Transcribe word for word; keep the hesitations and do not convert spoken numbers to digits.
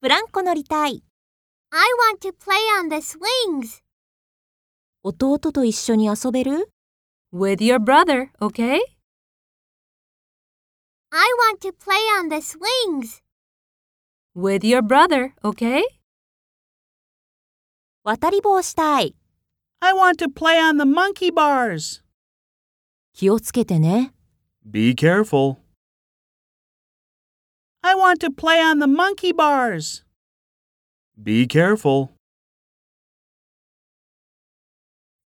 ブランコ乗りたい。 I want to play on the swings. 弟と一緒に遊べる？ With your brother, okay? I want to play on the swings. With your brother, okay? 渡り棒したい。 I want to play on the monkey bars. 気をつけてね。 Be careful. I want to play on the monkey bars. Be careful.